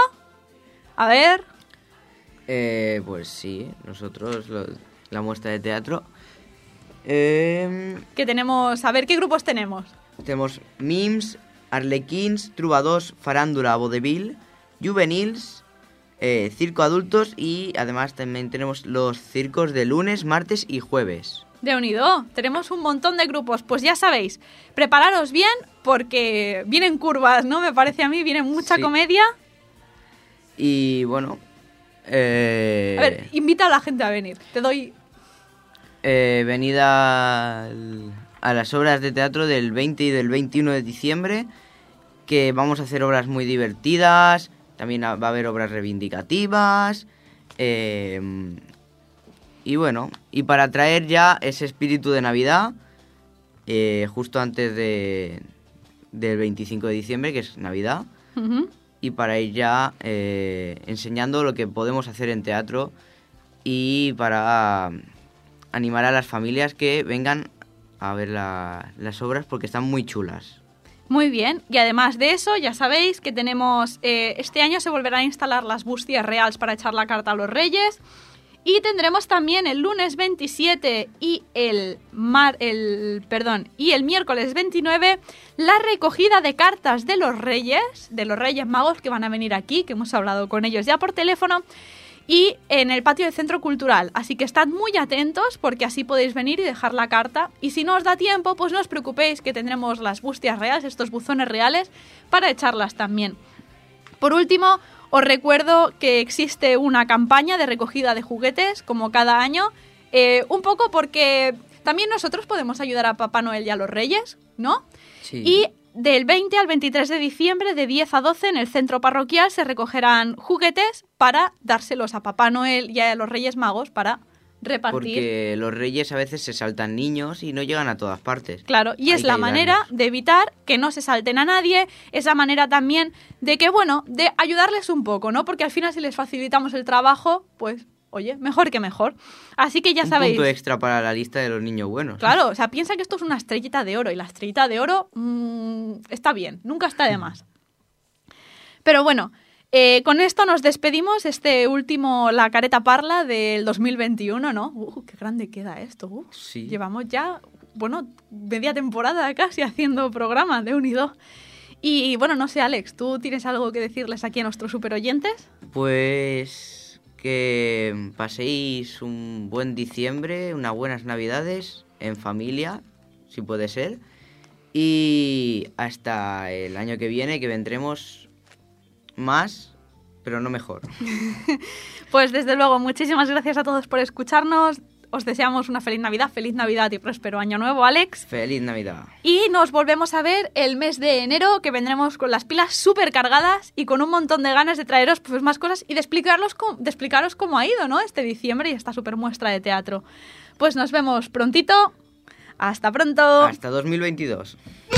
A ver... Pues sí, nosotros, la muestra de teatro. Que tenemos... A ver, ¿qué grupos tenemos? Tenemos Mims, Arlequins, Trubadors, Farándula, Vodevil, Juvenils, Circo Adultos, y además también tenemos los circos de lunes, martes y jueves. Déu-n'hi-do, tenemos un montón de grupos. Pues ya sabéis, prepararos bien porque vienen curvas, ¿no? Me parece a mí, viene mucha comedia. Y bueno... A ver, invita a la gente a venir, te doy... venid a las obras de teatro del 20 y del 21 de diciembre, que vamos a hacer obras muy divertidas, también va a haber obras reivindicativas, y bueno, y para traer ya ese espíritu de Navidad, justo antes del 25 de diciembre, que es Navidad, y para ir ya enseñando lo que podemos hacer en teatro y para animar a las familias que vengan a ver las obras porque están muy chulas. Muy bien, y además de eso, ya sabéis que tenemos... este año se volverán a instalar las bústias reales para echar la carta a los Reyes. Y tendremos también el lunes 27 y el miércoles 29 la recogida de cartas de los Reyes Magos, que van a venir aquí, que hemos hablado con ellos ya por teléfono, y en el patio del Centro Cultural. Así que estad muy atentos porque así podéis venir y dejar la carta. Y si no os da tiempo, pues no os preocupéis que tendremos las bustias reales, estos buzones reales, para echarlas también. Por último, os recuerdo que existe una campaña de recogida de juguetes, como cada año, un poco porque también nosotros podemos ayudar a Papá Noel y a los Reyes, ¿no? Sí. Y del 20 al 23 de diciembre, de 10 a 12, en el centro parroquial se recogerán juguetes para dárselos a Papá Noel y a los Reyes Magos para repartir. Porque los reyes a veces se saltan niños y no llegan a todas partes. Claro, y es la manera de evitar que no se salten a nadie, es la manera también de que, bueno, de ayudarles un poco, ¿no? Porque al final si les facilitamos el trabajo, pues, oye, mejor que mejor. Así que ya sabéis. Un punto extra para la lista de los niños buenos. Claro, o sea, piensa que esto es una estrellita de oro y la estrellita de oro está bien, nunca está de más. Pero bueno, con esto nos despedimos, este último La Careta Parla del 2021, ¿no? Qué grande queda esto. Sí. Llevamos ya, bueno, media temporada casi haciendo programa de Unido. Y bueno, no sé, Alex, ¿tú tienes algo que decirles aquí a nuestros superoyentes? Pues que paséis un buen diciembre, unas buenas navidades en familia, si puede ser. Y hasta el año que viene, que vendremos más, pero no mejor. Pues desde luego, muchísimas gracias a todos por escucharnos. Os deseamos una feliz Navidad y próspero año nuevo, Alex. Feliz Navidad. Y nos volvemos a ver el mes de enero, que vendremos con las pilas súper cargadas y con un montón de ganas de traeros pues más cosas y de explicaros cómo ha ido, ¿no? Este diciembre y esta súper muestra de teatro. Pues nos vemos prontito. Hasta pronto. Hasta 2022.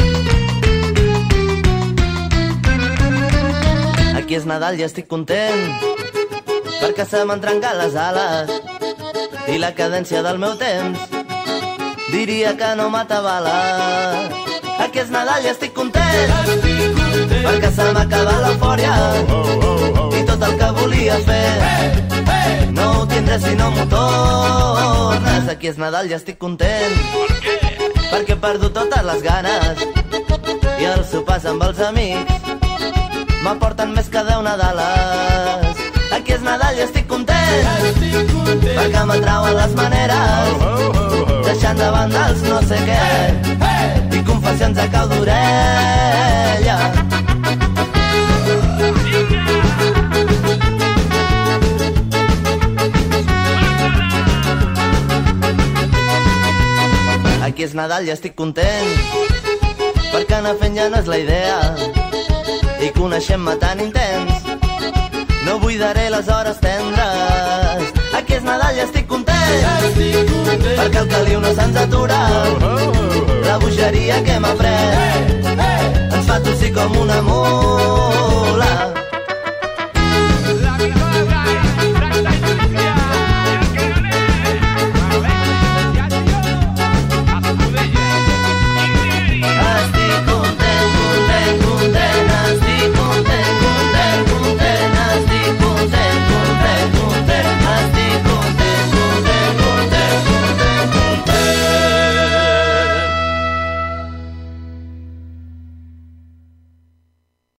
Aquí és Nadal i estic content perquè se m'han trencat les ales i la cadència del meu temps diria que no m'atabala. Aquí és Nadal i estic content perquè se m'ha acabat l'eufòria i tot el que volia fer no ho tindré si no m'ho tornes. Aquí és Nadal i estic content perquè he perdut totes les ganes i els sopars amb els amics m'aporten més que 10 Nadales. Aquí és Nadal i estic content perquè m'atrauen les maneres deixant de banda els no sé què i confessions a cau d'orella. Aquí és Nadal i estic content perquè anar fent ja no és la idea i coneixent-me tan intens no buidaré les hores tendres. Aquí és Nadal i estic content perquè el caliu no se'ns atura la bogeria que m'ha pres ens fa tossir com una mula.